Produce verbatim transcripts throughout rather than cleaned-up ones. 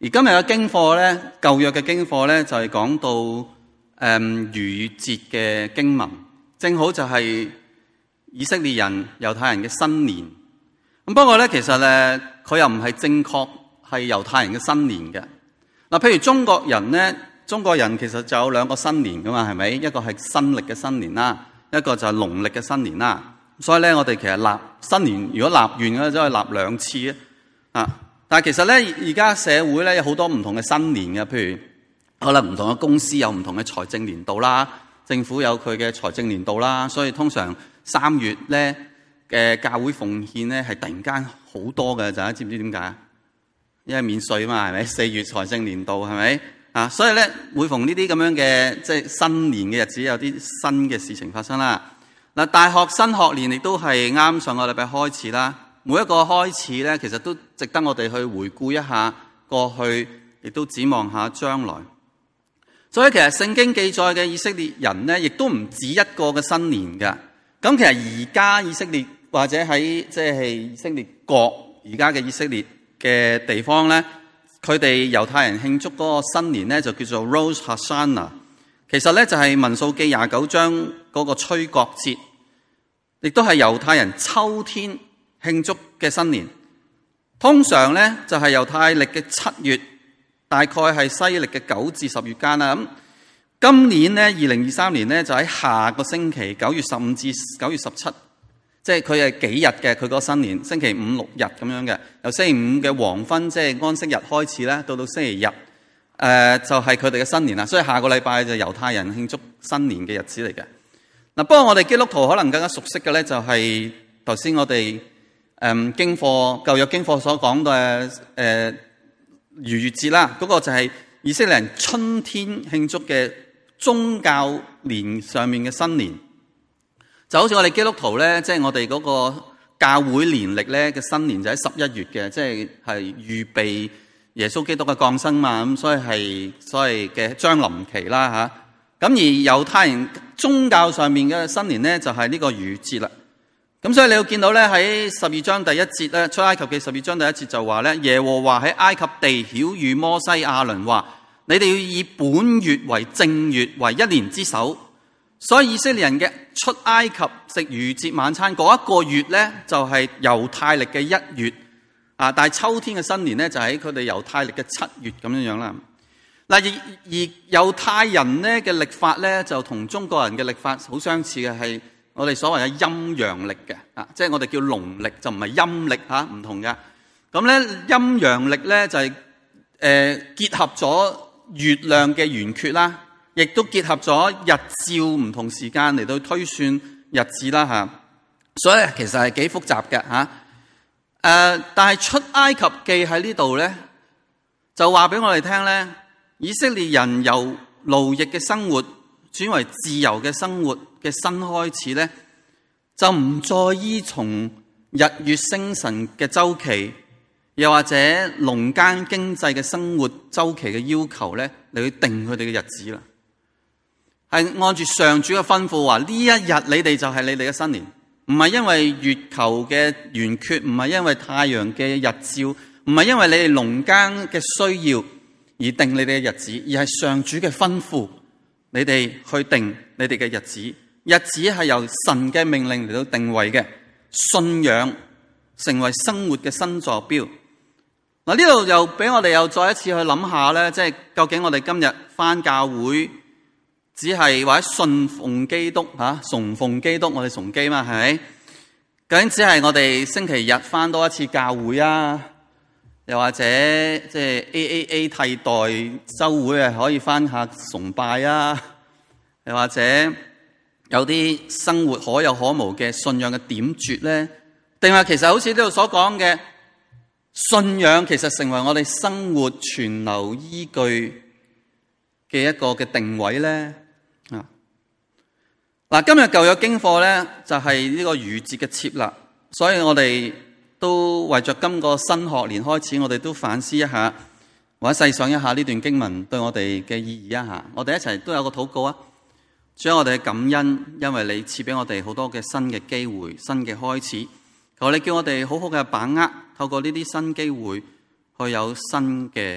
而今日嘅經課咧，舊約嘅經課咧，就係講到誒逾越節嘅經文，正好就係以色列人、猶太人嘅新年。咁不過咧，其實咧，佢又唔係正確係猶太人嘅新年嘅。嗱，譬如中國人咧，中國人其實就有兩個新年噶嘛，係咪？一個係新曆嘅新年啦，一個就係農曆嘅新年啦。所以咧，我哋其實立新年，如果立完嘅，就係立兩次啊。但係其實咧，而家社會咧有好多唔同嘅新年嘅，譬如可能唔同嘅公司有唔同嘅財政年度啦，政府有佢嘅財政年度啦，所以通常三月咧嘅教會奉獻咧係突然間好多嘅，大家知唔知點解？因為免稅嘛，係咪？四月財政年度係咪啊？所以咧，每逢呢啲咁樣嘅即係新年嘅日子，有啲新嘅事情發生啦。嗱，大學新學年亦都係啱上個禮拜開始啦。每一個開始咧，其實都值得我哋去回顧一下過去，亦都展望下將來。所以其實聖經記載嘅以色列人咧，亦都唔止一個嘅新年㗎。咁其實而家以色列或者喺即係以色列國而家嘅以色列嘅地方咧，佢哋猶太人慶祝嗰個新年咧，就叫做 Rosh Hashanah。其實咧就係民數記廿九章嗰個吹角節，亦都係猶太人秋天慶祝嘅新年。通常咧就係猶太曆嘅七月，大概係西曆嘅九至十月間啦。咁今年咧二零二三年咧就喺下個星期九月十五至九月十七，即係佢係幾日嘅佢個新年，星期五六日咁樣嘅，由星期五嘅黃昏即係安息日開始咧，到到星期日誒、呃、就係佢哋嘅新年啦。所以下個禮拜就猶太人慶祝新年嘅日子嚟嘅。嗱，不過我哋基督徒可能更加熟悉嘅咧就係頭先我哋。誒經課舊約經課所講嘅誒逾越節啦，嗰、那個就係以色列人春天慶祝嘅宗教年上面嘅新年，就好似我哋基督徒咧，即、就、係、是、我哋嗰個教會年曆咧嘅新年就喺十一月嘅，即係係預備耶穌基督嘅降生嘛，咁所以係所謂嘅將臨期啦嚇。咁而猶太人宗教上面嘅新年咧就係呢個逾越節啦。咁所以你會見到咧喺十二章第一節咧，出埃及記十二章第一節就話咧，耶和華喺埃及地曉諭摩西亞倫話：你哋要以本月為正月，為一年之首。所以以色列人嘅出埃及食逾越節晚餐嗰一個月咧，就係猶太曆嘅一月啊。但係秋天嘅新年咧，就喺佢哋猶太曆嘅七月咁樣樣啦。嗱，而而猶太人咧嘅曆法咧，就同中國人嘅曆法好相似嘅，係我哋所謂嘅陰陽曆嘅，啊，即係我哋叫農曆，就唔係陰曆嚇，唔同嘅。咁咧陰陽曆咧就係、是、誒、呃、結合咗月亮嘅圓缺啦，亦都結合咗日照唔同時間嚟到推算日子啦嚇。所以其實係幾複雜嘅嚇。誒、呃，但係出埃及記喺呢度咧，就話俾我哋聽咧，以色列人由奴役嘅生活轉為自由嘅生活嘅新開始咧，就唔再依從日月星辰嘅週期，又或者農耕經濟嘅生活週期嘅要求咧，嚟去定佢哋嘅日子啦。係按住上主嘅吩咐話，呢一日你哋就係你哋嘅新年，唔係因為月球嘅圓缺，唔係因為太陽嘅日照，唔係因為你哋農耕嘅需要而定你哋嘅日子，而係上主嘅吩咐。你哋去定你哋嘅日子，日子係由神嘅命令嚟到定位嘅，信仰成為生活嘅新座標。嗱，呢度又俾我哋又再一次去諗下咧，即係究竟我哋今日返教會只係或者信奉基督吓，崇奉基督，我哋崇基嘛，係咪？究竟只係我哋星期日返多一次教會啊？又或者即係 A A A 替代周會啊，可以翻下崇拜啊？又或者有啲生活可有可無嘅信仰嘅點綴咧？定係其實好似呢度所講嘅信仰，其實成為我哋生活存留依據嘅一個嘅定位咧？啊！嗱，今日舊約經課咧就係呢個逾越節嘅設立，所以我哋都為着今個新學年開始，我哋都反思一下，或者細想一下呢段經文對我哋嘅意義一下。我哋一齊都有個禱告啊！主啊，我哋嘅感恩，因為你賜俾我哋好多嘅新嘅機會、新嘅開始。求你叫我哋好好嘅把握，透過呢啲新機會，去有新嘅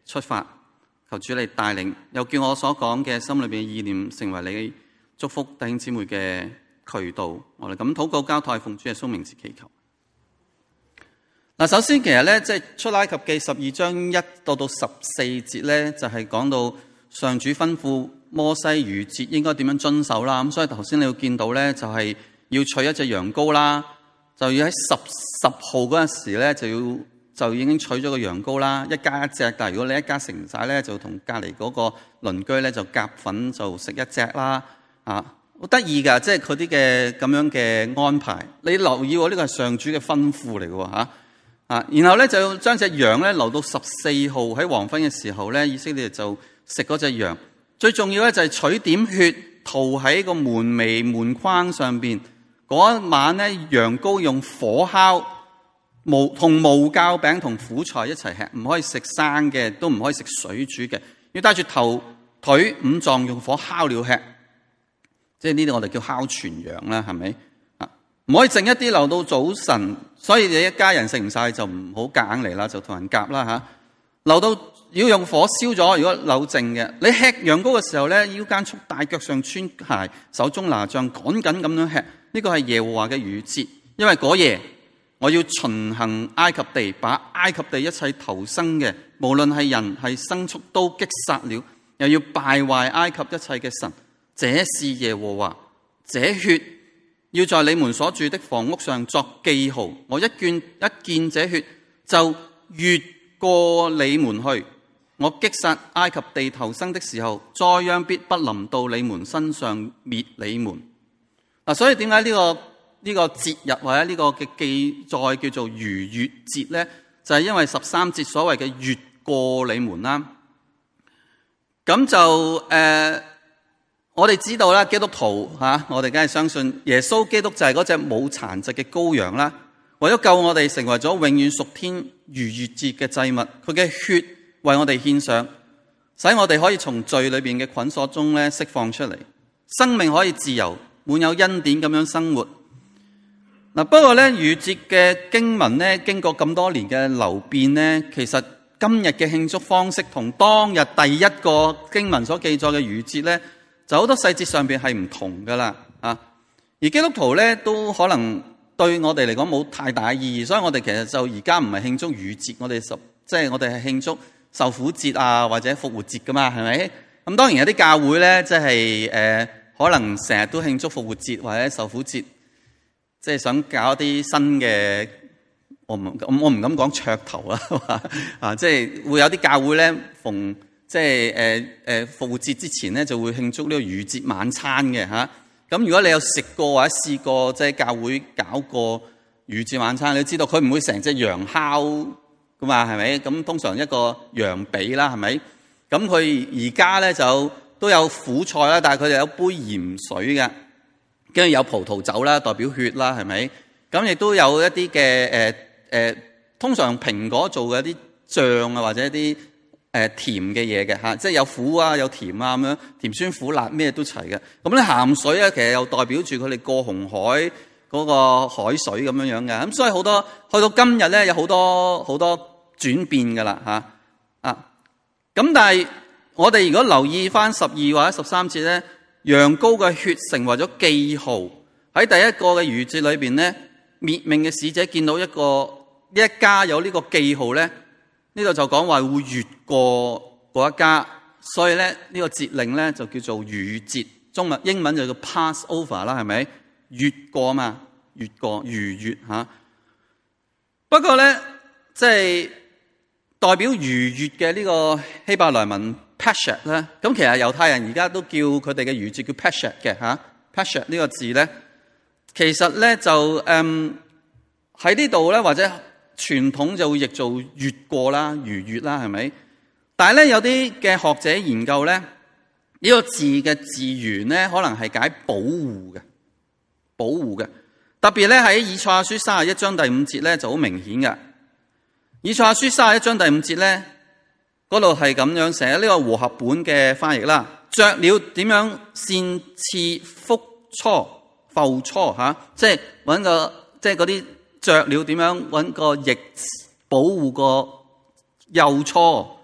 出發，求主你帶領，又叫我所講嘅心裏邊嘅意念成為你祝福弟兄姊妹嘅渠道。我哋咁禱告交託，奉主耶穌名字祈求。嗱，首先其實咧，即係出埃及記十二章一到到十四節咧，就係講到上主吩咐摩西逾節應該點樣遵守啦。咁所以頭先你要見到咧，就係要取一隻羊羔啦，就要喺十十號嗰陣時咧，就要就已經取咗個羊羔啦，一家一隻。但係如果你一家成晒咧，就同隔離嗰個鄰居咧就夾份就食一隻啦。啊，好得意㗎，即係佢啲嘅咁樣嘅安排。你留意喎，呢個係上主嘅吩咐嚟嘅喎嚇。啊，然後咧就將隻羊咧留到十四號喺黃昏嘅時候咧，以色列就食嗰隻羊。最重要咧就係取點血塗喺個門楣門框上邊。嗰一晚咧，羊羔用火烤，無同無酵餅同苦菜一齊吃，唔可以食生嘅，都唔可以食水煮嘅，要帶住頭腿五臟用火烤了吃。即係呢啲我哋叫烤全羊啦，係咪？唔可以剩一啲留到早晨，所以你一家人食唔晒就唔好夾硬嚟啦，就同人夾啦吓。留到要用火燒咗，如果留剩嘅，你吃羊羔嘅時候咧，腰間束帶，腳上穿鞋，手中拿杖，趕緊咁樣吃。呢個係耶和華嘅逾節，因為嗰夜我要巡行埃及地，把埃及地一切投生嘅，無論係人係牲畜，都擊殺了，又要敗壞埃及一切嘅神。這是耶和華，這血要在你們所住的房屋上作記號，我一見一見這血就越過你們去。我擊殺埃及地頭生的時候，災殃必不臨到你們身上滅你們。嗱，所以點解呢個呢、這個節日或者呢個嘅記載叫做逾越節咧？就係、是、因為十三節所謂嘅越過你們啦。咁就誒。呃我哋知道啦，基督徒吓，我哋梗係相信耶穌基督就係嗰隻冇殘疾嘅羔羊啦，為咗救我哋，成為咗永遠屬天逾越節嘅祭物。佢嘅血為我哋獻上，使我哋可以從罪裏邊嘅捆鎖中咧釋放出嚟，生命可以自由，滿有恩典咁樣生活。嗱，不過咧逾節嘅經文咧，經過咁多年嘅流變咧，其實今日嘅慶祝方式同當日第一個經文所記載嘅逾節咧，就好多細節上邊係唔同噶啦，啊！而基督徒咧都可能對我哋嚟講冇太大嘅意義，所以我哋其實就而家唔係慶祝逾節，我哋十即係我哋係慶祝受苦節啊或者復活節噶嘛，係咪？咁當然有啲教會咧，即係誒可能成日都慶祝復活節或者受苦節，即係想搞一啲新嘅，我唔我唔敢講噱頭啊，啊！即係會有啲教會咧逢。即係誒誒復活節之前咧，就會慶祝呢個逾節晚餐嘅嚇。咁、啊、如果你有食過或者試過，即係教會搞過逾節晚餐，你知道佢唔會成隻羊烤噶嘛，係咪？咁通常一個羊髀啦，係咪？咁佢而家咧就都有苦菜啦，但係佢哋有杯鹽水嘅，跟住有葡萄酒啦，代表血啦，係咪？咁亦都有一啲嘅誒誒，通常蘋果做嘅一啲醬啊，或者一啲。誒甜嘅嘢嘅嚇，即係有苦啊，有甜啊咁樣，甜酸苦辣咩都齊嘅。咁咧鹹水咧，其實又代表住佢哋過紅海嗰個海水咁樣樣嘅。咁所以好多去到今日咧，有好多好多轉變噶啦嚇啊！咁但係我哋如果留意翻十二或者十三節咧，羊羔嘅血成為咗記號。喺第一個嘅逾節裏邊咧，滅命嘅使者見到一個呢一家有呢個記號咧。呢度就講話會越過嗰一家，所以咧呢個節令咧就叫做逾節，中文英文就叫 pass over 啦，係咪？越過嘛，越過逾越吓。不過咧，即係代表逾越嘅呢個希伯來文 Pesach 咧，咁其實猶太人而家都叫佢哋嘅逾節叫 Pesach 嘅吓。Pesach 呢個字咧，其實咧就誒喺呢度咧或者。傳統就會譯做越過啦、逾越啦，係咪？但係咧有啲嘅學者研究咧，呢、呢個字嘅字源咧，可能係解保護嘅，保護嘅。特別咧喺以賽亞書三十一章第五節咧就好明顯嘅。以賽亞書三十一章第五節咧，嗰度係咁樣寫，呢、呢個和合本嘅翻譯啦。雀鳥點樣搧翅覆雛、覆雛吓，即係搵個即係嗰啲。雀鳥點樣搵個翼保護個幼雛，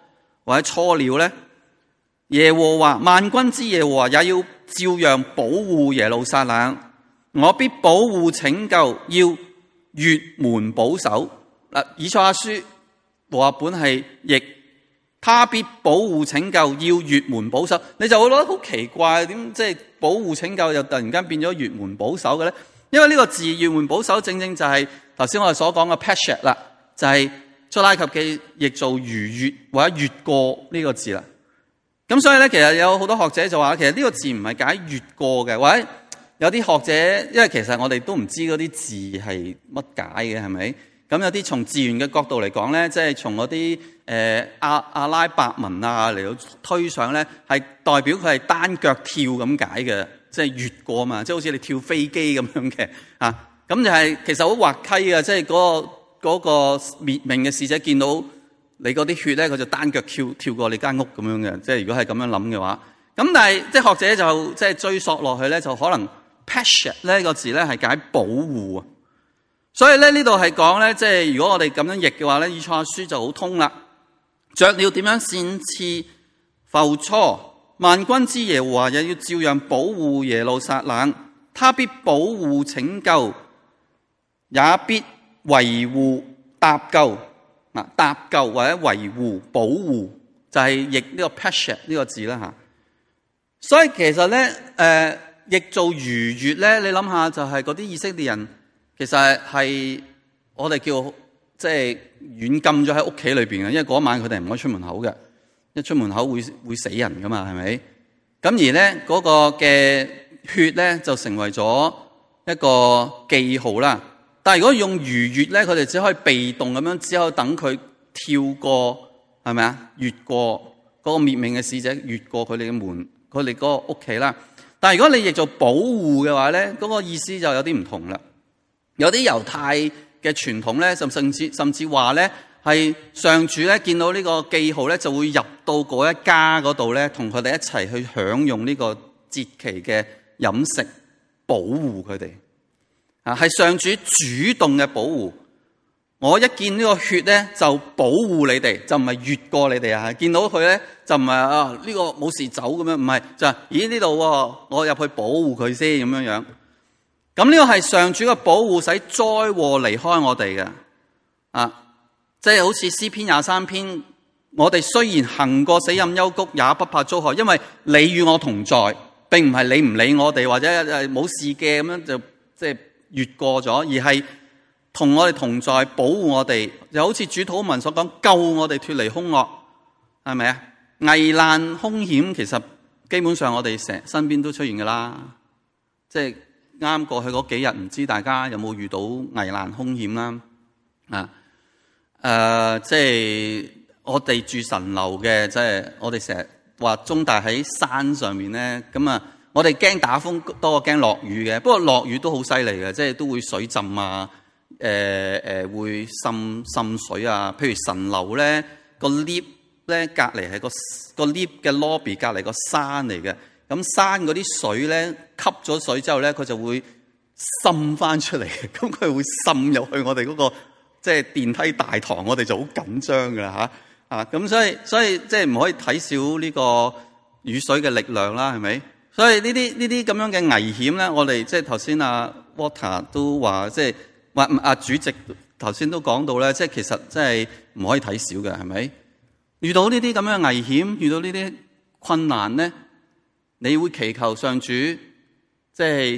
或者錯了咧？耶和華萬軍之耶和華也要照樣保護耶路撒冷，我必保護拯救，要越門保守。嗱，以賽亞書和合本係譯，他必保護拯救，要越門保守。你就會覺得好奇怪，點即係保護拯救又突然間變咗越門保守嘅咧？因為呢個字越門保守正正就係頭先我哋所講嘅 Pesher 啦，就係出埃及記譯做逾越或者越過呢個字啦。咁所以咧，其實有好多學者就話，其實呢個字唔係解越過嘅，或者有啲學者，因為其實我哋都唔知嗰啲字係乜解嘅，係咪？咁有啲從字源嘅角度嚟講咧，即係從嗰啲誒阿阿拉伯文啊嚟到推上咧，係代表佢係單腳跳咁解嘅，即係越過嘛，即係好似你跳飛機咁樣嘅啊。咁就係其實好滑稽嘅，即係嗰個嗰個滅命嘅使者見到你嗰啲血咧，佢就單腳跳跳過你間屋咁樣嘅。即係如果係咁樣諗嘅話，咁但係即係學者就即係追溯落去咧，就可能 Pesher 呢個字咧係解保護啊。所以咧呢度係講咧，即係如果我哋咁樣譯嘅話咧，以賽亞書就好通啦。雀鳥點樣展翅踱初，萬軍之耶和華也要照樣保護耶路撒冷，他必保護拯救，也必維護搭救。嗱，搭救或者維護保護就係譯呢個 Pesher 呢個字啦吓。所以其實咧，誒、呃，譯做逾越咧，你諗下就係嗰啲以色列人。其實係我哋叫即係軟禁咗喺屋企裏邊嘅，因為嗰晚佢哋唔可以出門口嘅，一出門口會會死人噶嘛，係咪？咁而咧嗰個嘅血咧就成為咗一個記號啦。但係如果用逾越咧，佢哋只可以被動咁樣，只可以等佢跳過，係咪啊？越過嗰個滅命嘅使者，越過佢哋嘅門，佢哋嗰個屋企啦。但係如果你譯做保護嘅話咧，嗰個意思就有啲唔同啦。有啲猶太嘅傳統咧，甚甚至甚至話咧，係上主咧見到呢個記號咧，就會入到嗰一家嗰度咧，同佢哋一齊去享用呢個節期嘅飲食，保護佢哋啊，係上主主動嘅保護。我一見呢個血咧，就保護你哋，就唔係越過你哋啊！見到佢咧，就唔係啊呢個冇事走咁樣，唔係就係咦呢度我入去保護佢先咁樣樣。咁呢個係上主嘅保護，使災禍離開我哋嘅啊！即係好似詩篇廿三篇，我哋雖然行過死蔭幽谷，也不怕遭害，因為你與我同在，並唔係你唔理我哋或者誒冇事嘅咁樣就即係越過咗，而係同我哋同在，保護我哋，就好似主禱文所講，救我哋脫離兇惡，係咪啊？危難兇險其實基本上我哋成身邊都出現噶啦，即係。啱過去嗰幾日，唔知大家有冇遇到危難兇險啦？啊，誒、呃，即係我哋住神樓嘅，即係我哋成日話中大喺山上面咧，咁啊，我哋驚打風多過驚落雨嘅。不過落雨都好犀利嘅，即係都會水浸啊，誒、呃、誒、呃、會滲滲水啊。譬如神樓咧，個 lift 咧隔離係個個 lift 嘅 lobby 隔離個山嚟嘅。咁山嗰啲水咧，吸咗水之後咧，佢就會滲翻出嚟。咁佢會滲入去我哋嗰個即係電梯大堂，我哋就好緊張噶啦吓啊！咁所以所以即係唔可以睇少呢個雨水嘅力量啦，係咪？所以呢啲呢啲咁樣嘅危險咧，我哋即係頭先阿 Water 都話，即係話阿主席頭先都講到咧，即係其實即係唔可以睇少嘅，係咪？遇到呢啲咁樣嘅危險，遇到呢啲困難咧，你會祈求上主即係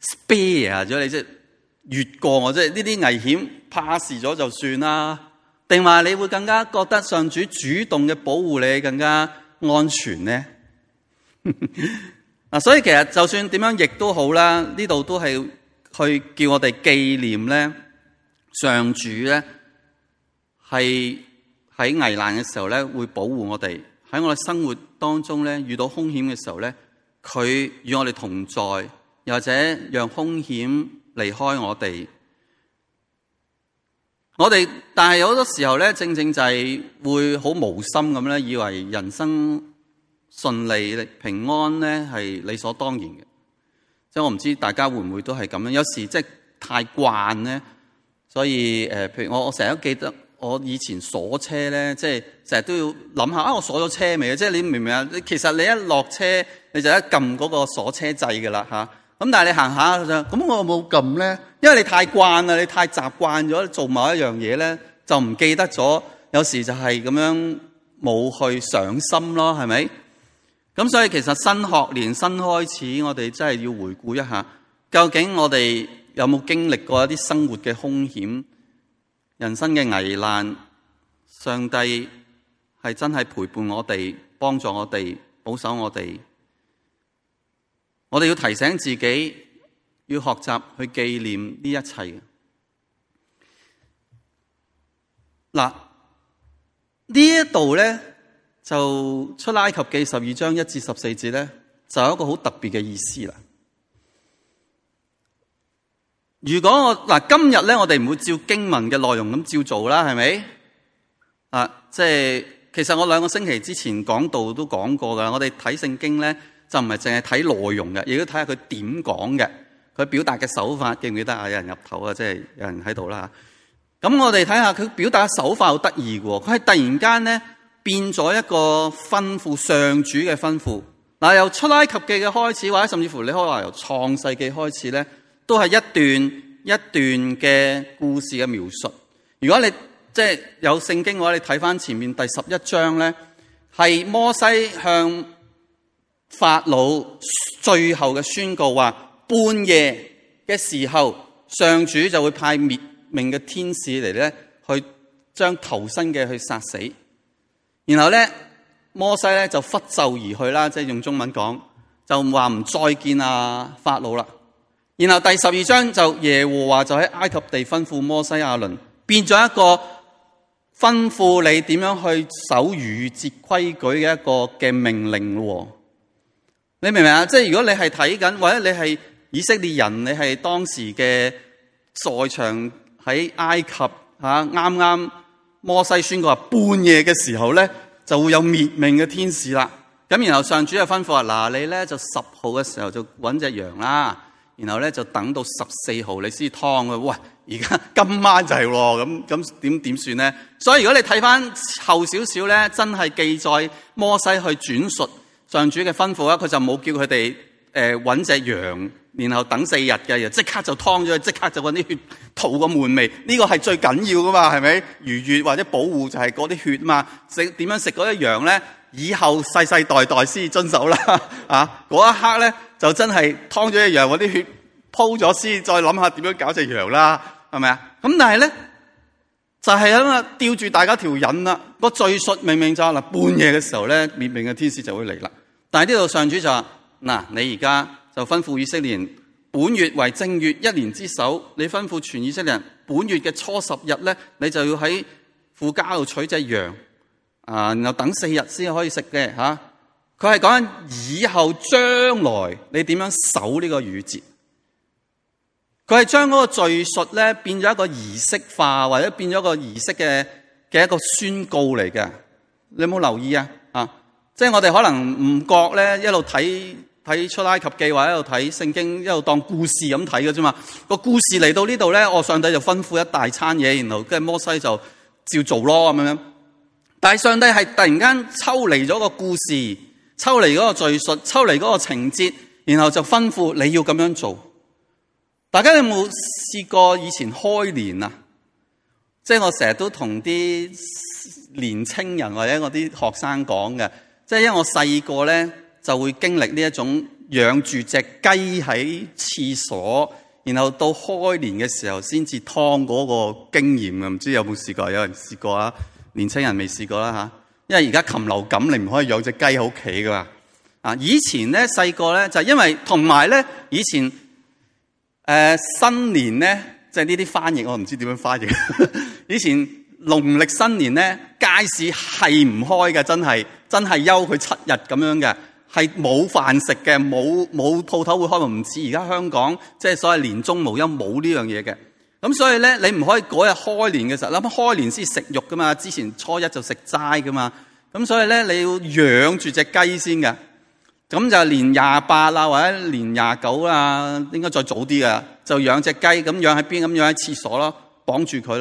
spare 咗你，即係越過我，即係呢啲危險 pass 咗就算啦，定話你會更加覺得上主主動嘅保護你更加安全呢？嗱，所以其實就算點樣譯都好啦，呢度都係去叫我哋紀念咧，上主咧係喺危難嘅時候咧會保護我哋，喺我哋生活當中咧遇到兇險嘅時候咧，佢與我哋同在，又或者讓兇險離開我哋。我哋但係有好多時候咧，正正就係會好無心咁咧，以為人生順利平安咧係理所當然嘅。即係我唔知大家會唔會都係咁樣，有時即係太慣咧，所以誒、呃，譬如我我成日都記得我以前鎖車咧，即係成日都要諗下啊，我鎖咗車未啊？即係你明唔明啊？其實你一落車你就一撳嗰個鎖車掣㗎啦嚇。咁但係你行下就咁，我冇撳咧，因為你太慣啦，你太習慣咗做某一樣嘢咧，就唔記得咗。有時就係咁樣冇去上心咯，係咪？咁所以其實新學年新開始，我哋真係要回顧一下，究竟我哋有冇經歷過一啲生活嘅兇險、人生嘅危難？上帝係真係陪伴我哋、幫助我哋、保守我哋。我哋要提醒自己，要學習去紀念呢一切。嗱，呢一度咧就出埃及記十二章一至十四節咧，就有一個好特別嘅意思啦。如果我嗱今日咧，我哋唔會照經文嘅內容咁照做啦，係咪？啊，即係其實我兩個星期之前講道都講過噶，我哋睇聖經咧。就唔係淨係睇內容嘅，亦都睇下佢點講嘅，佢表達嘅手法記唔記得啊？有人入頭啊，即係有人喺度啦。咁我哋睇下佢表達嘅手法好得意嘅喎，佢係突然間咧變咗一個吩咐，上主嘅吩咐。嗱，由出埃及記嘅開始，或者甚至乎你可以話由創世記開始咧，都係一段一段嘅故事嘅描述。如果你即係有聖經嘅話，你睇翻前面第十一章咧，係摩西向法老最後嘅宣告話，半夜嘅時候，上主就會派滅命嘅天使嚟咧，去將頭生嘅去殺死。然後咧，摩西咧就拂袖而去啦，即係用中文講，就話唔再見啊法老啦。然後第十二章就耶和華就喺埃及地吩咐摩西亞倫，變咗一個吩咐你點樣去守逾越節規矩嘅一個嘅命令咯。你明唔明啊？即係如果你係睇緊，或者你係以色列人，你係當時嘅在場喺埃及吓，啱啱摩西宣告話半夜嘅時候咧，就會有滅命嘅天使啦。咁然後上主就吩咐話：嗱，你咧就十號嘅時候就搵隻羊啦，然後咧就等到十四號你先劏佢。喂，而家今晚就係喎，咁咁點點算咧？所以如果你睇翻後少少咧，真係記載摩西去轉述上主嘅吩咐啊，佢就冇叫佢哋誒揾隻羊，然後等四日嘅，又即刻就劏咗，即刻就揾啲血塗個門楣。呢個係最緊要噶嘛，係咪？逾越或者保護就係嗰啲血嘛。食點樣食嗰隻羊咧？以後世世代代先遵守啦。啊，嗰一刻咧就真係劏咗隻羊，揾啲血鋪咗先，再諗下點樣搞隻羊啦，係咪啊？咁但係咧就係咁啊，吊住大家條癮啦。個敘述明明就係嗱，半夜嘅時候咧，滅命嘅天使就會嚟啦。但係呢度上主就話：嗱，你而家就吩咐以色列人，本月為正月，一年之首，你吩咐全以色列人，本月嘅初十日咧，你就要喺父家度取隻羊，啊，然後等四日先可以食嘅吓。佢係講緊以後將來你點樣守呢個逾越節。佢係將嗰個敘述咧變咗一個儀式化，或者變咗個儀式嘅嘅一個宣告嚟嘅。你有冇留意啊？啊，即係我哋可能唔覺咧，一路睇睇出埃及記，或者一路睇聖經，一路當故事咁睇嘅啫嘛。個故事嚟到呢度咧，我上帝就吩咐一大餐嘢，然後跟住摩西就照做咯咁樣。但係上帝係突然間抽離咗個故事，抽離嗰個敘述，抽離嗰個情節，然後就吩咐你要咁樣做。大家有冇試過以前開年啊？即係我成日都同啲年青人或者我啲學生講嘅，即係因為我細個咧就會經歷呢一種養住隻雞喺廁所，然後到開年嘅時候先至劏嗰個經驗啊！唔知有冇試過？有人試過啊？年青人未試過啦吓，因為而家禽流感，你唔可以養隻雞喺屋企噶嘛。啊，以前咧細個咧就係因為同埋咧以前。誒、呃、新年咧，即係呢啲翻譯，我唔知點樣翻譯。以前農曆新年咧，街市係唔開嘅，真係真係休佢七日咁樣嘅，係冇飯食嘅，冇冇鋪頭會開門，唔似而家香港即係所謂年中無休冇呢樣嘢嘅。咁所以咧，你唔可以嗰日開年嘅時候，諗開年先食肉噶嘛，之前初一就食齋噶嘛。咁所以咧，你要養住隻雞先嘅。咁就年廿八啦，或者年廿九啦，應該再早啲噶，就養隻雞，咁養喺邊？咁養喺廁所咯，綁住佢咯。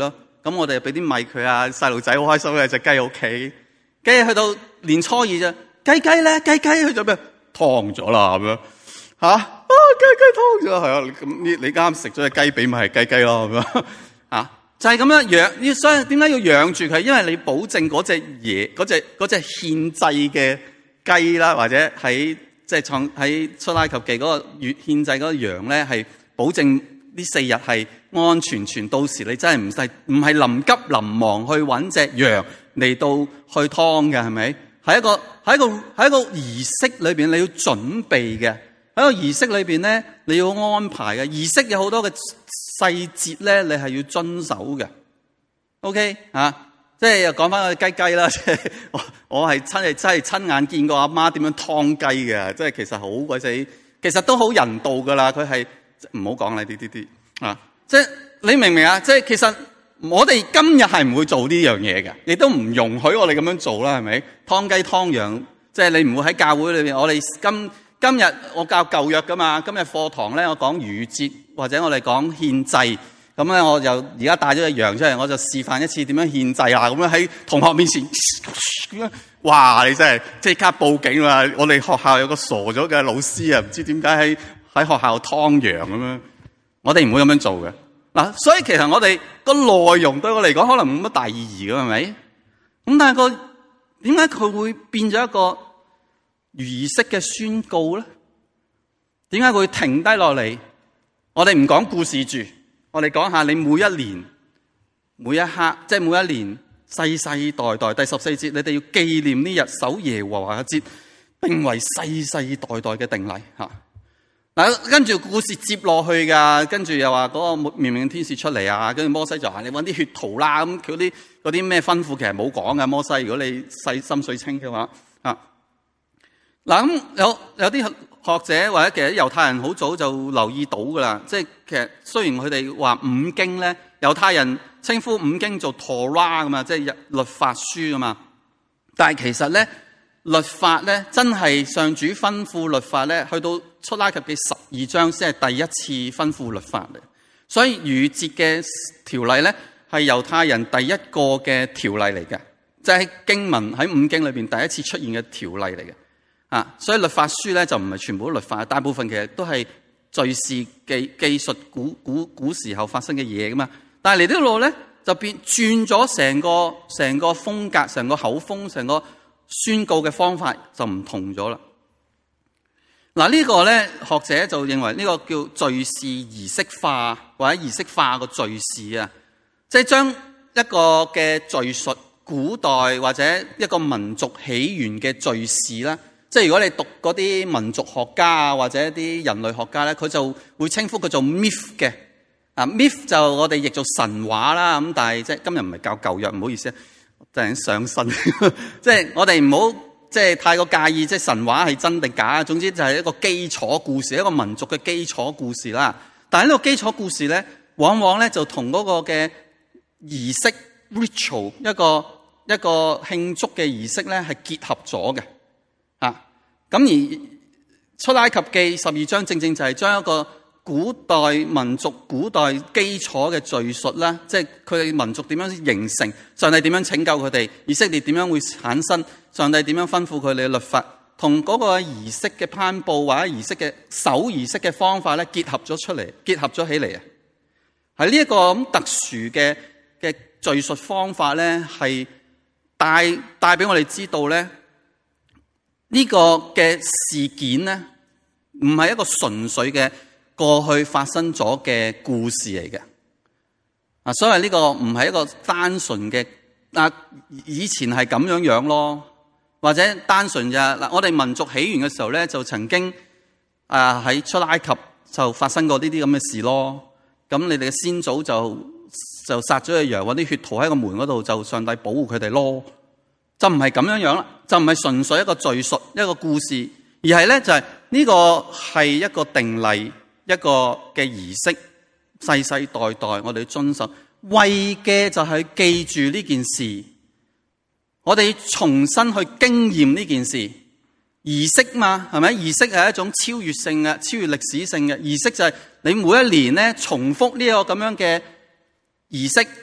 咁我哋俾啲米佢啊，細路仔好開心嘅隻雞喺屋企。跟住去到年初二啫，雞雞咧，雞雞去咗咩？燙咗啦咁樣嚇啊！雞雞燙咗係啊！咁你你啱食咗隻雞髀咪係雞雞咯咁樣啊！就係咁樣養，所以點解要養住佢？因為你保證嗰隻嘢，嗰隻嗰隻獻祭嘅雞啦，或者喺即係創喺出埃及記嗰個月獻祭嗰個羊咧，係保證呢四日係安安全全。到時你真係唔使唔係臨急臨忙去揾隻羊嚟到去劏嘅，係咪？係一個喺一個喺一個儀式裏邊你要準備嘅。喺個儀式裏邊咧，你要安排嘅儀式有好多嘅細節咧，你係要遵守嘅。OK 啊，即係又講翻個雞雞啦，即係我我係親係真係親眼見過阿媽點樣劏雞嘅，即係其實好鬼死，其實都好人道噶啦。佢係唔好講啦，啲啲啲啊，即係你明唔明啊？即係其實我哋今日係唔會做呢樣嘢嘅，亦都唔容許我哋咁樣做啦，係咪？劏雞劏羊，即係你唔會喺教會裏邊，我哋今。今日我教舊約噶嘛，今日課堂咧我講逾越節或者我哋講獻祭，咁咧我就而家帶咗隻羊出嚟，我就示範一次點樣獻祭啊！咁樣喺同學面前咁樣，哇！你真係即刻報警啦！我哋學校有個傻咗嘅老師啊，唔知點解喺喺學校劏羊咁樣，我哋唔會咁樣做嘅嗱。所以其實我哋個內容對我嚟講可能冇乜大意義嘅，係咪？咁但係個點解佢會變咗一個儀式嘅宣告咧？點解會停低落嚟？我哋唔講故事住，我哋講下你每一年每一刻，即係每一年世世代代。第十四節，你哋要紀念呢日，守耶和華嘅節，並為世世代代嘅定例吓。嗱，跟住故事接落去噶，跟住又話嗰個滅命天使出嚟啊，跟住摩西就話你搵啲血塗啦，咁佢啲嗰啲咩吩咐其實冇講噶。摩西，如果你細心水清嘅話啊。嗱，咁有有啲學者或者其實猶太人好早就留意到噶啦，即係其實雖然佢哋話五經咧，猶太人稱呼五經做 Torah 噶嘛，即係律法書噶嘛，但係其實咧律法咧真係上主吩咐律法咧，去到出埃及記十二章先係第一次吩咐律法嚟，所以逾越節嘅條例咧係猶太人第一個嘅條例嚟嘅，即係經文喺五經裏邊第一次出現嘅條例嚟嘅。啊，所以律法書咧就唔係全部都律法，大部分其實都係敘事記記述古古古時候發生嘅嘢噶嘛。但係嚟呢度咧就變轉咗成個成個風格、成個口風、成個宣告嘅方法就唔同咗啦。嗱、啊，這個、呢個咧學者就認為呢個叫敘事儀式化或者儀式化個敘事啊，即係將一個嘅敘述古代或者一個民族起源嘅敘事啦。即係如果你讀嗰啲民族學家啊，或者啲人類學家咧，佢就會稱呼佢做 myth 嘅。啊 myth 就我哋譯做神話啦。咁但係即係今日唔係教舊約，唔好意思啊，突然上身。即係我哋唔好即係太過介意，即係神話係真定假。總之就係一個基礎故事，一個民族嘅基礎故事啦。但係呢個基礎故事咧，往往咧就同嗰個嘅儀式 ritual 一個一個慶祝嘅儀式咧係結合咗嘅。啊，咁而出埃及記十二章正正就係將一個古代民族古代基礎嘅敘述啦，即係佢哋民族點樣形成，上帝點樣拯救佢哋，以色列點樣會產生，上帝點樣吩咐佢哋嘅律法，同嗰個儀式嘅頒布或者儀式嘅守儀式嘅方法咧結合咗出嚟，結合咗起嚟啊！係呢一個咁特殊嘅嘅敘述方法咧，係帶帶俾我哋知道咧。呢個嘅事件咧，唔係一個純粹嘅過去發生咗嘅故事嚟嘅。啊，所謂呢個唔係一個單純嘅啊，以前係咁樣樣咯，或者單純就嗱，我哋民族起源嘅時候咧，就曾經啊喺出埃及就發生過呢啲咁嘅事咯。咁你哋嘅先祖就就殺咗隻羊，搵啲血塗喺個門嗰度，就上帝保護佢哋咯。就唔係咁樣樣啦，就唔係純粹一個敘述一個故事，而係咧就係呢個係一個定例，一個嘅儀式，世世代代我哋遵守，為嘅就係記住呢件事，我哋重新去經驗呢件事。儀式嘛，係咪？儀式係一種超越性嘅、超越歷史性嘅儀式，就係你每一年咧重複呢個咁樣嘅儀式。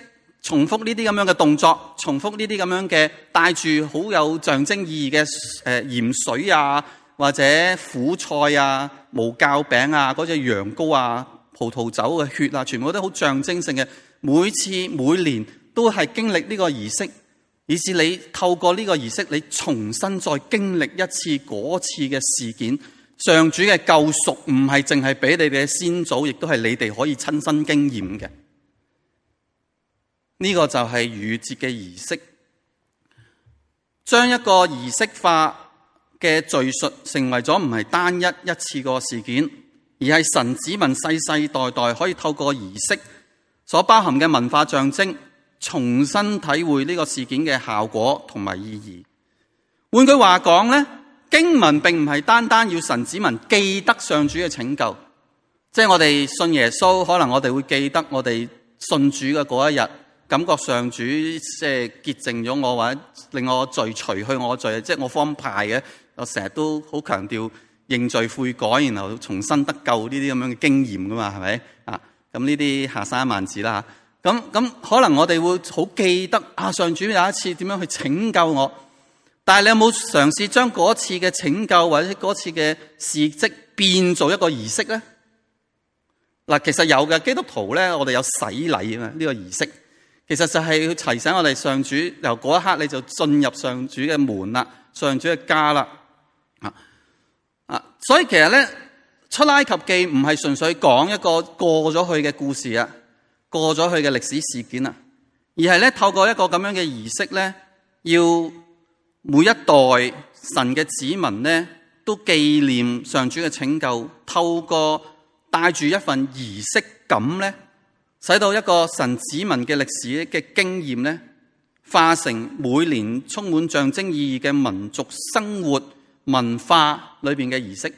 重複呢啲咁樣嘅動作，重複呢啲咁樣嘅帶住好有象徵意義嘅誒鹽水啊，或者苦菜啊、無酵餅啊、嗰隻羊羔啊、葡萄酒嘅血啊，全部都好象徵性嘅。每次每年都係經歷呢個儀式，以至你透過呢個儀式，你重新再經歷一次嗰次嘅事件。上主嘅救贖唔係淨係俾你哋嘅先祖，亦都係你哋可以親身經驗嘅。呢個就係逾越節嘅儀式，將一個儀式化嘅敘述成為咗唔係單一一次個事件，而係神子民世世代代可以透過儀式所包含嘅文化象徵，重新體會呢個事件嘅效果同埋意義。換句話講呢，經文並唔係單單要神子民記得上主嘅拯救，即係我哋信耶穌，可能我哋會記得我哋信主嘅嗰一日，感覺上主即係潔淨咗我，或者令我罪除去我罪，即係我方派嘅。我成日都好強調認罪悔改，然後重新得救呢啲咁樣嘅經驗噶嘛，係咪啊？咁呢啲下山一萬字啦。咁咁可能我哋會好記得啊，上主有一次點樣去拯救我。但係你有冇嘗試將嗰次嘅拯救或者嗰次嘅事蹟變做一個儀式咧？嗱，其實有嘅，基督徒咧，我哋有洗禮啊嘛，呢個儀式。其實就係要提醒我哋上主，由嗰一刻你就進入上主嘅門啦，上主嘅家啦。啊啊！所以其實咧，出埃及記唔係純粹講一個過咗去嘅故事啊，過咗去嘅歷史事件啊，而係咧透過一個咁樣嘅儀式咧，要每一代神嘅子民咧都紀念上主嘅拯救，透過帶住一份儀式感咧，使到一個神子民嘅歷史嘅經驗咧，化成每年充滿象徵意義嘅民族生活文化裏邊嘅儀式。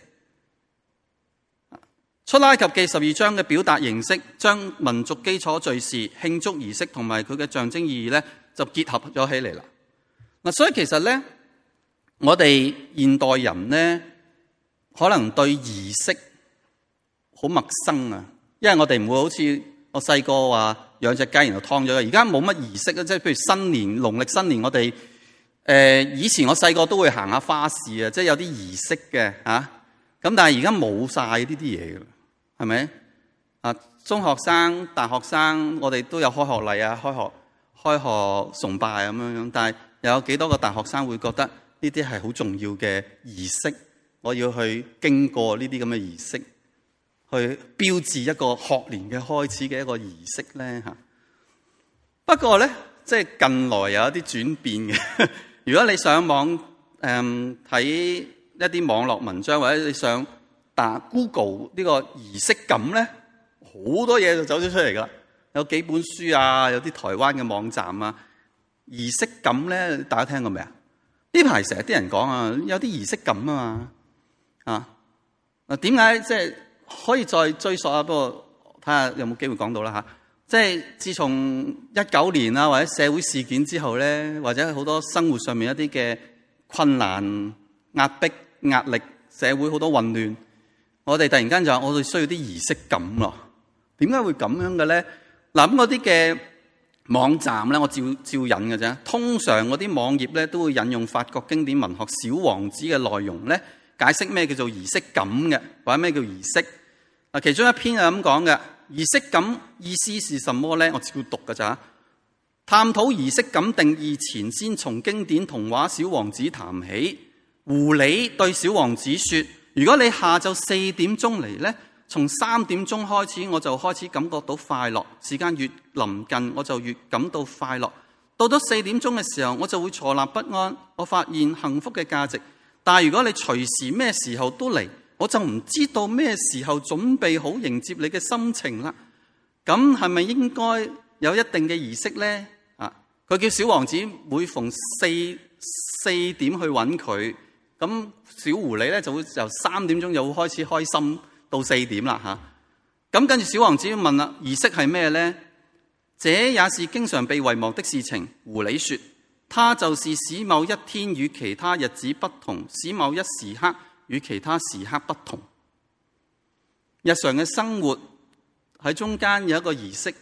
出埃及記十二章嘅表達形式，將民族基礎敘事、慶祝儀式同埋佢嘅象徵意義咧，就結合咗起嚟啦。嗱，所以其實咧，我哋現代人咧，可能對儀式好陌生啊，因為我哋唔會好似我細個話養隻雞然後劏咗，而家冇乜儀式啊，即係譬如新年、農曆新年，我哋誒、呃、以前我細個都會行下花市啊，即係有啲儀式嘅嚇，咁但係而家冇晒呢啲嘢㗎，係咪啊？中學生、大學生，我哋都有開學禮啊、開學開學崇拜咁樣樣，但係又有幾多個大學生會覺得呢啲係好重要嘅儀式？我要去經過呢啲咁嘅儀式，去標誌一個學年嘅開始嘅一個儀式咧嚇。不過咧，即係近來有一啲轉變嘅。如果你上網誒睇、嗯、一啲網絡文章，或者你上打 Google 呢個儀式感咧，好多嘢就走咗出嚟噶啦。有幾本書啊，有啲台灣嘅網站啊，儀式感咧，大家聽過未啊？呢排成日啲人講啊，有啲儀式感啊嘛，啊嗱，點解即係可以再追溯啊？不過睇下有冇機會講到啦吓。即係自從一九年啊，或者社會事件之後咧，或者好多生活上面一啲嘅困難、壓迫、壓力，社會好多混亂，我哋突然間就話我哋需要啲儀式感咯。點解會咁樣嘅咧？嗱，咁嗰啲嘅網站咧，我照照引嘅啫。通常嗰啲網頁咧都會引用法國經典文學《小王子》嘅內容咧，解釋咩叫做儀式感嘅，或者咩叫儀式。嗱，其中一篇係咁講嘅，儀式感意思是什麼咧？我照讀嘅咋。探討儀式感定義前，先從經典童話《小王子》談起。狐狸對小王子說：如果你下晝四點鐘嚟咧，從三點鐘開始，我就開始感覺到快樂。時間越臨近，我就越感到快樂。到咗四點鐘嘅時候，我就會坐立不安。我發現幸福嘅價值。但係如果你隨時咩時候都嚟，我就唔知道咩時候準備好迎接你嘅心情啦。咁係咪應該有一定嘅儀式呢？啊，佢叫小王子每逢四四點去揾佢，咁小狐狸咧就會由三點鐘就會開始開心。到四點啦吓，咁跟住小王子問啦：儀式係咩咧？這也是經常被遺忘的事情。狐狸說：它就是使某一天與其他日子不同，使某一時刻與其他時刻不同。日常嘅生活喺中間有一個儀式，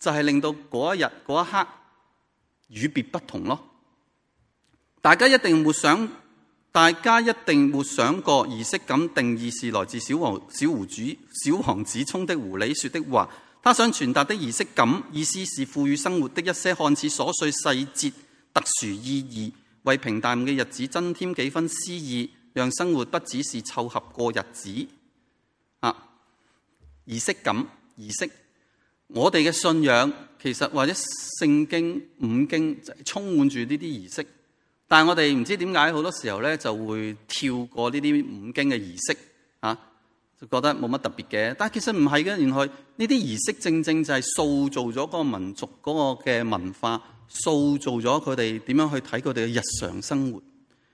就係令到嗰一日嗰一刻與別不同咯。大家一定會想，大家一定會想過儀式感定義是來自小王小胡子小王子聰的狐狸說的話。他想傳達的儀式感意思是賦予生活的一些看似瑣碎細節特殊意義，為平淡嘅日子增添幾分詩意，讓生活不只是湊合過日子。啊，儀式感儀式，我哋嘅信仰其實或者聖經五經就充滿住呢啲儀式。但係我哋唔知點解好多時候咧就會跳過呢啲五經嘅儀式啊，就覺得冇乜特別嘅。但係其實唔係嘅，原來呢啲儀式正正就係塑造咗嗰個民族嗰個嘅文化，塑造咗佢哋點樣去睇佢哋嘅日常生活。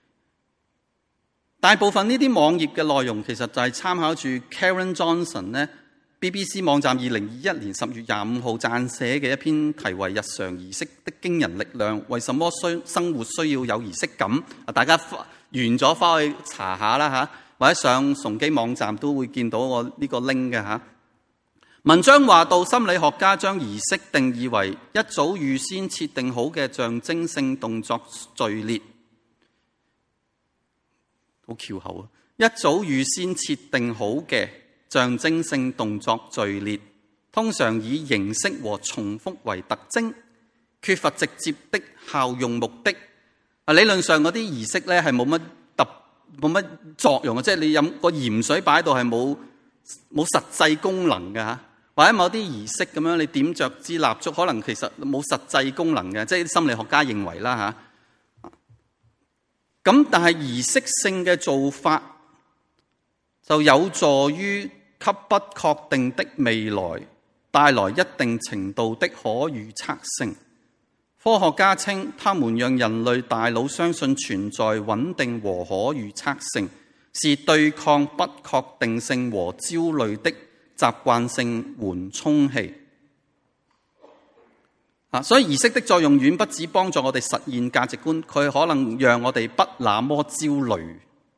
大部分呢啲網頁嘅內容其實就係參考住 Karen Johnson 咧 B B C 網站二零二一年十月廿五號撰寫嘅一篇題為《日常儀式的驚人力量》，為什麼需生活需要有儀式感？啊，大家完咗翻去查下啦嚇，或者上崇基網站都會見到我呢個 link 嘅嚇。文章話到，心理學家將儀式定義為一早預先設定好嘅象徵性動作序列，好翹口啊！一早預先設定好嘅象徵性動作序列，通常以形式和重複為特徵，缺乏直接的效用目的。啊，理論上嗰啲儀式咧係冇乜特冇乜作用嘅，即係你飲個鹽水擺喺度係冇冇實際功能嘅嚇，或者某啲儀式咁樣你點着支蠟燭，可能其實冇實際功能嘅，即係心理學家認為啦嚇。咁但係儀式性嘅做法就有助於給不確定的未來帶來一定程度的可預測性。科學家稱，他們讓人類大腦相信存在穩定和可預測性，是對抗不確定性和焦慮的習慣性緩衝器。啊，所以儀式的作用遠不止幫助我哋實現價值觀，佢可能讓我哋不那麼焦慮。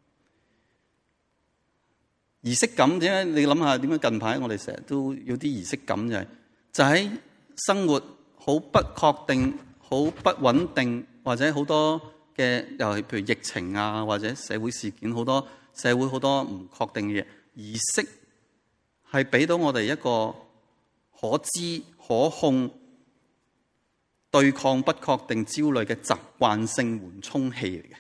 儀式感點解？你諗下點解近排我哋成日都有啲儀式感，就係就喺生活好不確定、好不穩定，或者好多嘅又係譬如疫情啊，或者社會事件好多社會好多唔確定嘅嘢，儀式係俾到我哋一個可知可控、對抗不確定焦慮嘅習慣性緩衝器嚟嘅。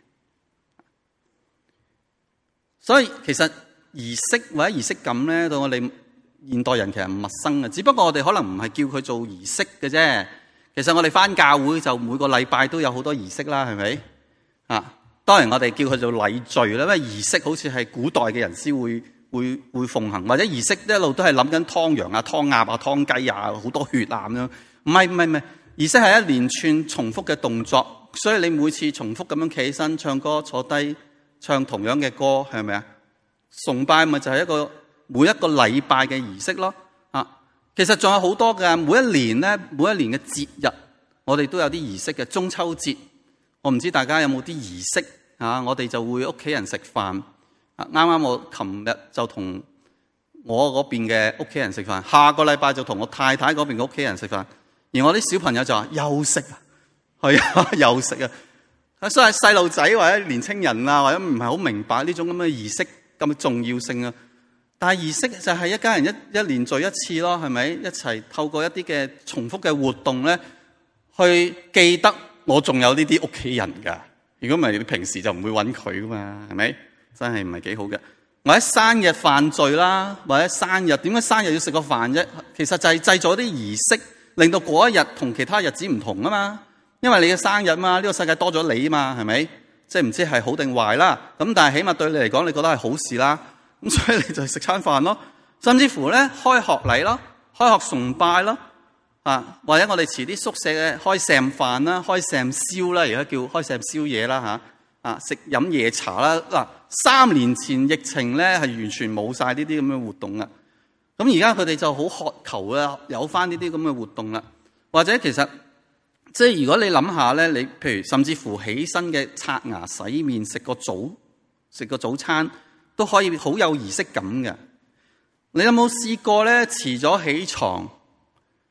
所以其實儀式或者儀式感咧，對我哋現代人其實唔陌生嘅，只不過我哋可能唔係叫佢做儀式嘅啫。其實我哋返教會就每個禮拜都有好多儀式啦，係咪？啊，當然我哋叫佢做禮序啦，因為儀式好似係古代嘅人先會會會奉行，或者儀式一路都係諗緊湯羊啊、湯鴨啊、湯雞啊，好多血啊咁樣。唔係唔係唔係，儀式係一連串重複嘅動作，所以你每次重複咁樣企起身、唱歌、坐低、唱同樣嘅歌，係咪啊？崇拜咪就係一個每一個禮拜嘅儀式咯。啊，其實仲有好多嘅，每一年咧，每一年嘅節日，我哋都有啲儀式嘅。中秋節，我唔知大家有冇啲儀式啊？我哋就會屋企人食飯。啊，啱啱我琴日就同我嗰邊嘅屋企人食飯，下個禮拜就同我太太嗰邊嘅屋企人食飯。而我啲小朋友就話休息啊，係啊，休息啊。所以細路仔或者年青人啊，或者唔係好明白呢種咁嘅儀式咁重要性啊，但係儀式就係一家人一一年聚一次咯，係咪？一齊透過一啲嘅重複嘅活動咧，去記得我仲有呢啲屋企人㗎。如果唔係，你平時就唔會揾佢㗎嘛，係咪？真係唔係幾好嘅。或者生日飯聚啦，或者生日，點解生日要食個飯啫？其實就係製造啲儀式，令到嗰一日同其他日子唔同啊嘛。因為你嘅生日嘛，呢個世界多咗你嘛，係咪？即係唔知係好定壞啦，咁但係起碼對你嚟講，你覺得係好事啦。咁所以你就食餐飯咯，甚至乎咧開學禮咯，開學崇拜咯，啊或者我哋遲啲宿舍嘅開聖飯啦，開聖宵啦，而家叫開聖宵夜啦嚇，啊食飲夜茶啦。嗱，三年前疫情咧係完全冇晒呢啲咁嘅活動啦，咁而家佢哋就好渴求啦，有翻呢啲咁嘅活動啦，或者其實。即係如果你諗下咧，你譬如甚至乎起身嘅刷牙、洗面、食個早、食個早餐，都可以好有儀式感嘅。你有冇試過咧？遲咗起床，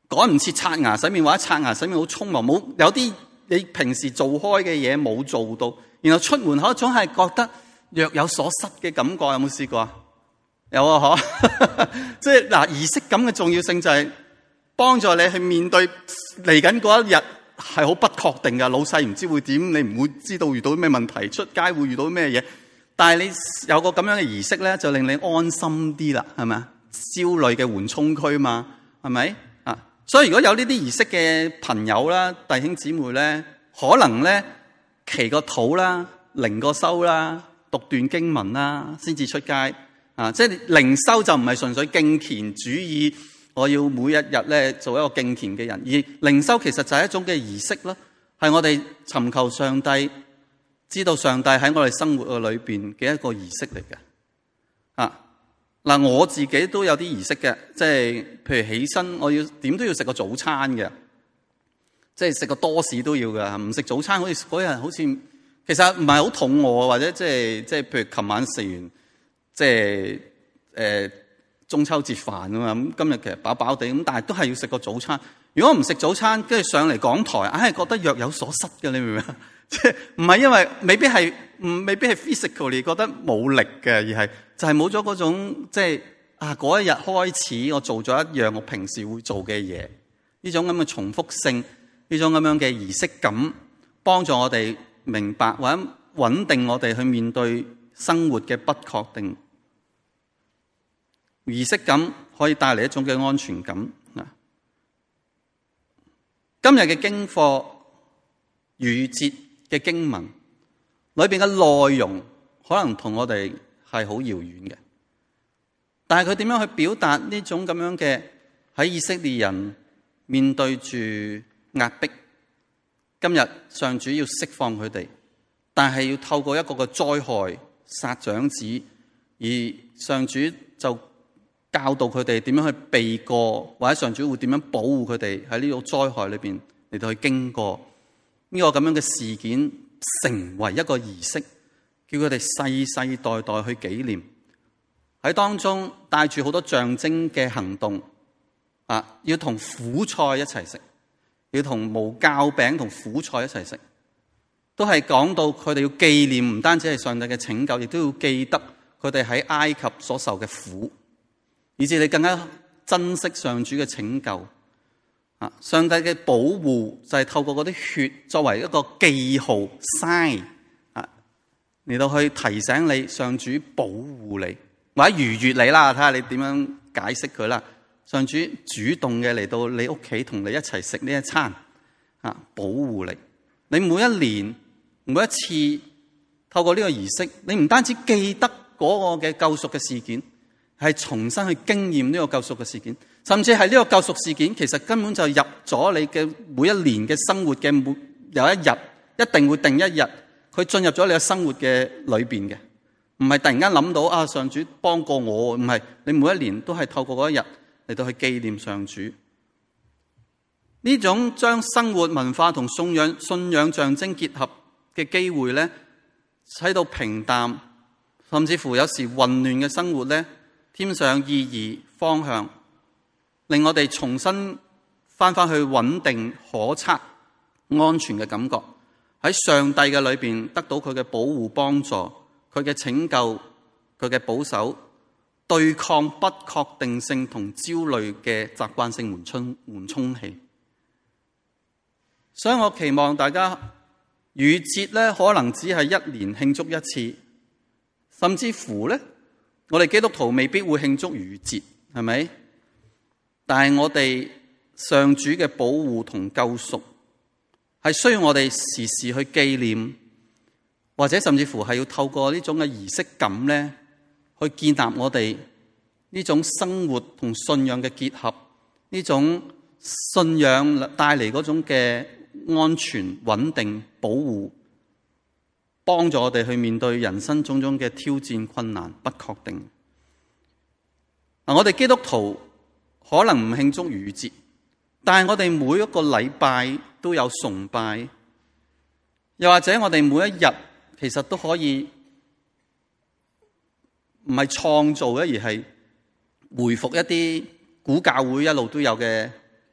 趕唔切刷牙洗面，或者刷牙洗面好匆忙，冇有啲你平時做開嘅嘢冇做到，然後出門口總係覺得若有所失嘅感覺，有冇試過啊？有啊，嗬！即係嗱，儀式感嘅重要性就係幫助你去面對嚟緊嗰一日係好不確定嘅，老細唔知會點，你唔會知道遇到咩問題，出街會遇到咩嘢。但係你有個咁樣嘅儀式咧，就令你安心啲啦，係咪啊？焦慮嘅緩衝區嘛，係咪啊？所以如果有呢啲儀式嘅朋友啦、弟兄姊妹咧，可能咧祈個禱啦、靈個修啦、讀段經文啦，先至出街。啊！即係靈修就唔係純粹敬虔主義，我要每一日咧做一個敬虔嘅人，而靈修其實就係一種嘅儀式咯，係我哋尋求上帝，知道上帝喺我哋生活嘅裏邊嘅一個儀式嚟嘅。啊嗱，我自己都有啲儀式嘅，即係譬如起身，我要點都要食個早餐嘅，即係食個多士都要嘅，唔食早餐好似嗰日好似其實唔係好肚餓，或者即係即係譬如琴晚食完。即係誒、呃、中秋節飯啊嘛，咁今日其實飽飽地咁，但係都係要食個早餐。如果唔食早餐，跟住上嚟講台，硬係覺得若有所失嘅，你明唔明啊？即係唔係因為未必係唔未必係 physically 覺得冇力嘅，而係就係冇咗嗰種即係啊嗰一日開始我做咗一樣我平時會做嘅嘢，呢種咁嘅重複性，呢種咁樣嘅儀式感，幫助我哋明白或者穩定我哋去面對生活嘅不確定。儀式感可以帶嚟一種嘅安全感。今日嘅經課逾越節嘅經文裏邊嘅內容可能同我哋係好遙遠嘅，但係佢點樣去表達呢種咁樣嘅喺以色列人面對住壓迫，今日上主要釋放佢哋，但係要透過一個個災害殺長子，而上主就教導佢哋點樣去避過，或者上主會點樣保護佢哋喺呢個災害裏邊嚟到去經過呢個咁樣嘅事件，成為一個儀式，叫佢哋世世代代去紀念。喺當中帶住好多象徵嘅行動啊，要同苦菜一齊食，要同無酵餅同苦菜一齊食，都係講到佢哋要紀念，唔單止係上帝嘅拯救，亦都要記得佢哋喺埃及所受嘅苦，以至你更加珍惜上主嘅拯救。啊，上帝嘅保護就係透過嗰啲血作為一個記號 sign 啊，嚟到去提醒你上主保護你，或者逾越你啦，睇下你點樣解釋佢啦。上主主動嘅嚟到你屋企同你一齊食呢一餐啊，保護你。你每一年每一次透過呢個儀式，你唔單止記得嗰個嘅救贖嘅事件，係重新去經驗呢個救贖嘅事件，甚至係呢個救贖事件其實根本就入咗你嘅每一年嘅生活嘅每有一日，一定會定一日，佢進入咗你嘅生活嘅裏邊嘅，唔係突然間諗到啊上主幫過我，唔係，你每一年都係透過嗰一日嚟到去紀念上主。呢種將生活文化同信仰信仰象徵結合嘅機會咧，使到平淡甚至乎有時混亂嘅生活咧，添上意義方向，令我哋重新翻返去穩定可測安全嘅感覺，喺上帝嘅裏邊得到佢嘅保護幫助，佢嘅拯救，佢嘅保守，對抗不確定性同焦慮嘅習慣性緩衝緩衝器。所以我期望大家逾越節咧，可能只係一年慶祝一次，甚至乎咧，我哋基督徒未必會慶祝逾越節，係咪？但係我哋上主嘅保護同救贖係需要我哋時時去紀念，或者甚至乎係要透過呢種嘅儀式感咧，去建立我哋呢種生活同信仰嘅結合，呢種信仰帶嚟嗰種嘅安全、穩定、保護，幫助我哋去面對人生種種嘅挑戰、困難、不確定。嗱，我哋基督徒可能唔慶祝逾越節，但係我哋每一個禮拜都有崇拜，又或者我哋每一日其實都可以唔係創造嘅，而係回復一啲古教會一路都有嘅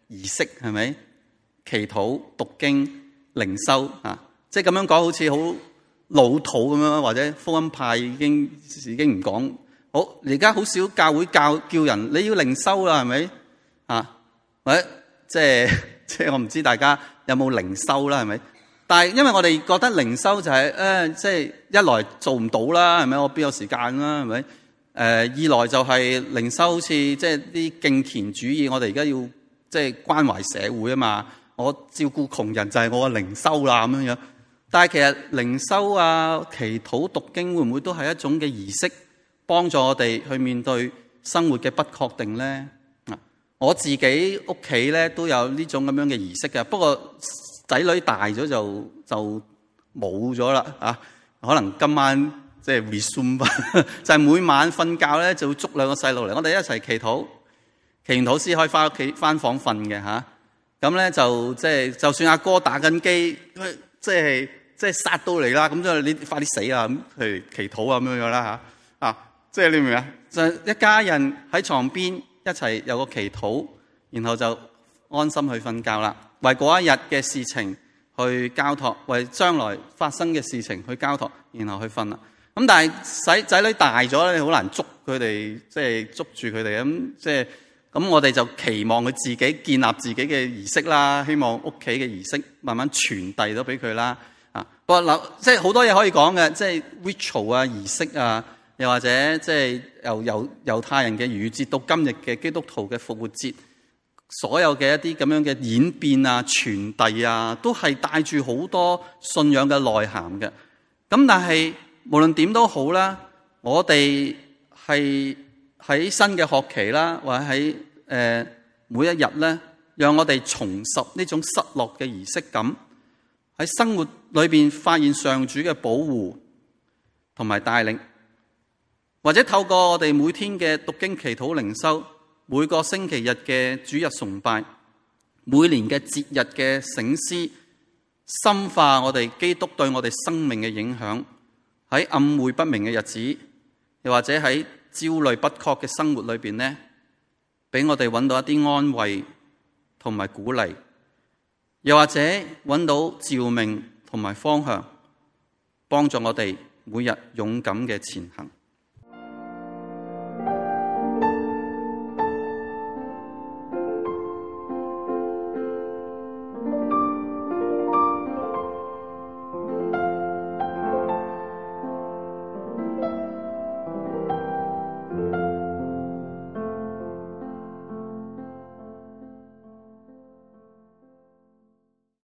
儀式，係咪？祈禱、讀經、靈修啊，即係咁樣講好似好老土咁樣，或者福音派已經已經唔講。好，而家好少教會教叫人你要靈修啦，係咪？啊，或者即係即係我唔知大家有冇靈修啦，係咪？但係因為我哋覺得靈修就係、是、誒、呃，即係一來做唔到啦，係咪？我邊有時間啦，係咪？誒、呃，二來就係靈修好似即係啲敬虔主義，我哋而家要即係關懷社會啊嘛。我照顧窮人就係我嘅靈修啦咁樣樣。但係其實靈修啊、祈禱、讀經會唔會都係一種嘅儀式，幫助我哋去面對生活嘅不確定咧？我自己屋企咧都有呢種咁樣嘅儀式嘅，不過仔女大咗就就冇咗啦啊！可能今晚即係 resume 翻，就係每晚瞓覺咧就會捉兩個細路嚟，我哋一齊祈禱，祈完禱先可以翻屋企翻房瞓嘅嚇。咁咧就即係就算阿哥打緊機，即係即係殺到嚟啦，咁就你快啲死啊！咁譬如祈禱啊咁樣樣啦嚇啊！即係你明唔明啊？就係一家人喺床邊一齊有個祈禱，然後就安心去瞓覺啦。為嗰一日嘅事情去交託，為將來發生嘅事情去交託，然後去瞓啦。咁但係仔仔女大咗咧，好難捉佢哋，即係捉住佢哋咁，即係咁我哋就期望佢自己建立自己嘅儀式啦，希望屋企嘅儀式慢慢傳遞到俾佢啦。啊，不過嗱，即係好多嘢可以講嘅，即係 ritual 啊、儀式啊，又或者即係由由猶太人嘅逾越節到今日嘅基督徒嘅復活節。所有嘅一啲咁樣嘅演變啊、傳遞啊，都係帶住好多信仰嘅內涵嘅。咁但係無論點都好啦，我哋係喺新嘅學期啦，或者喺誒、呃、每一日咧，讓我哋重拾呢種失落嘅儀式感，喺生活裏邊發現上主嘅保護同埋帶領，或者透過我哋每天嘅讀經、祈禱、靈修。每個星期日嘅主日崇拜，每年嘅節日嘅省思，深化我哋基督對我哋生命嘅影響，喺暗晦不明嘅日子，又或者喺焦慮不確嘅生活裏邊呢，俾我哋揾到一啲安慰同埋鼓勵，又或者揾到照明同埋方向，幫助我哋每日勇敢嘅前行。